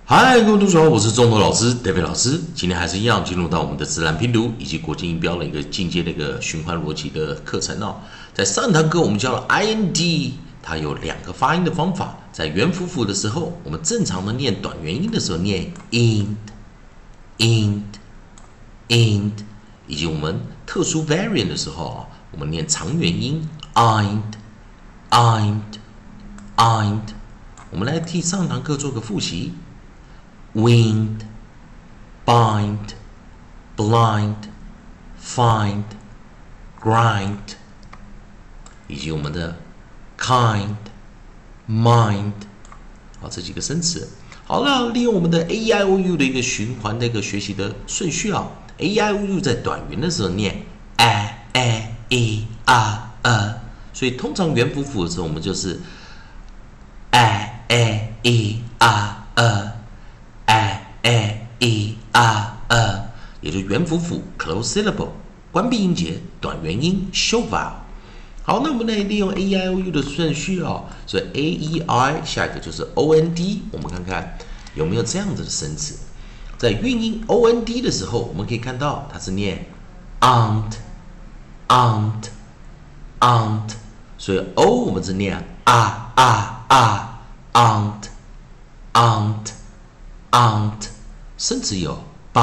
嗨，各位同学好，我是中头老师 David 老师。今天还是一样进入到我们的自然拼读以及国际音标的一个进阶的一个循环逻辑的课程哦。在上堂课我们教了 IND， 它有两个发音的方法。在元辅辅的时候，我们正常的念短元音的时候念 ind， 以及我们特殊 variant 的时候啊，我们念长元音 ind。我们来替上堂课做个复习。Wind, bind, blind, find, grind， 以及我们的 kind, mind， 好，这几个生词。好了，利用我们的 AEIOU 的一个循环的一个学习的顺序啊 ，AEIOU 在短元的时候念 e r， 所以通常元辅辅的时候，我们就是 e r。也就元辅辅 close syllable 关闭音节短元音 show vowel。好，那我们来利用 AEIOU 的顺序哦，所以 AEI 下一个就是 OND， 我们看看有没有这样子的生词。在韵音 OND 的时候，我们可以看到它是念 aunt， 所以 O 我们是念 aunt， 生词有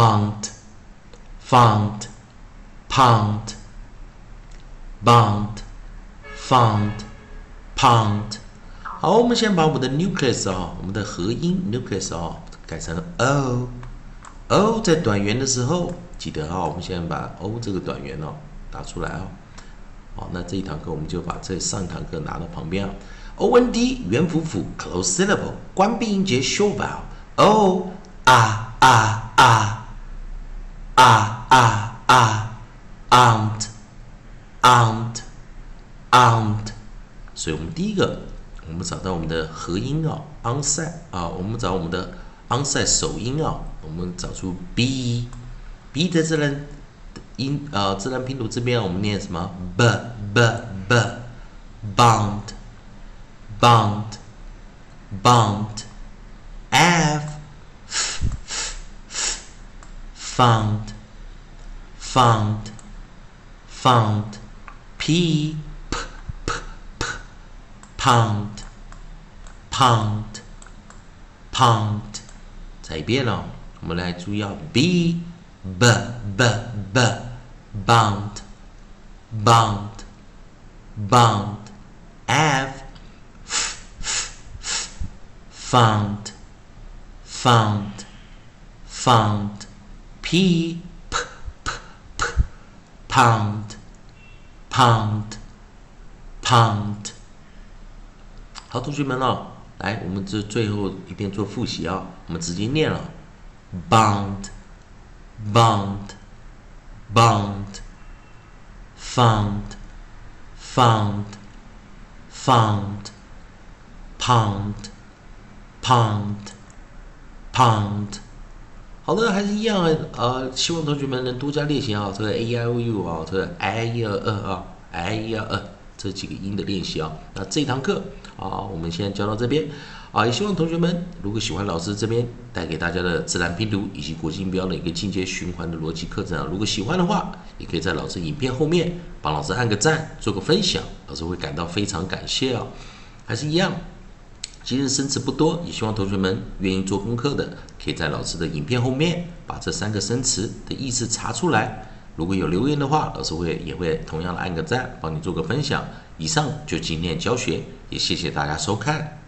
bound、found、pound、pound。好，我们先把我们的 nucleus 我们的合音 nucleus 改成 o。o 在短元的时候，记得我们先把 o 这个短元打出来好，那这一堂课我们就把这上一堂课拿到旁边OND 元辅辅 close syllable 关闭音节 show vowel o aunt， 所以我们第一个，我们找到我们的合音onset 我们找我们的 onset 首音我们找出 b 的自然音自然拼读这边我们念什么 bound f found p pound。 再一遍我们来注意b bound f found p pound。 好，同学们来，我们这最后一遍做复习我们直接念了 bound found pound。 好的，还是一样希望同学们能多加练习这个 AEIOU 这个 I122这几个音的练习那这一堂课我们先教到这边也希望同学们如果喜欢老师这边带给大家的自然拼读以及国际音标的一个进阶循环的逻辑课程如果喜欢的话，也可以在老师影片后面帮老师按个赞，做个分享，老师会感到非常感谢还是一样，今日生词不多，也希望同学们愿意做功课的，可以在老师的影片后面把这3个生词的意思查出来。如果有留言的话，老师也会同样的按个赞，帮你做个分享。以上就今天的教学，也谢谢大家收看。